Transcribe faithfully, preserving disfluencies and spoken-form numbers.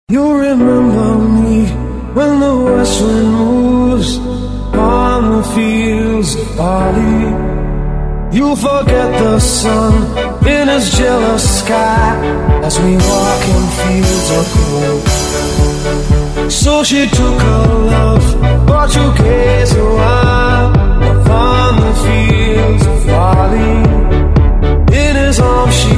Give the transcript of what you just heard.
You remember me when the west wind moves on the fields of barley. You'll forget the sun in his jealous sky as we walk in fields of gold. So she took her love, but you gaze a while upon the fields of barley. In his arms she